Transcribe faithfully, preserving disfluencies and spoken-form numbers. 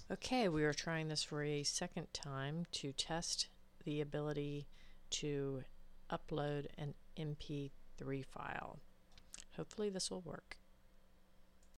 Okay, we are trying this for a second time to test the ability to upload an M P three file. Hopefully this will work.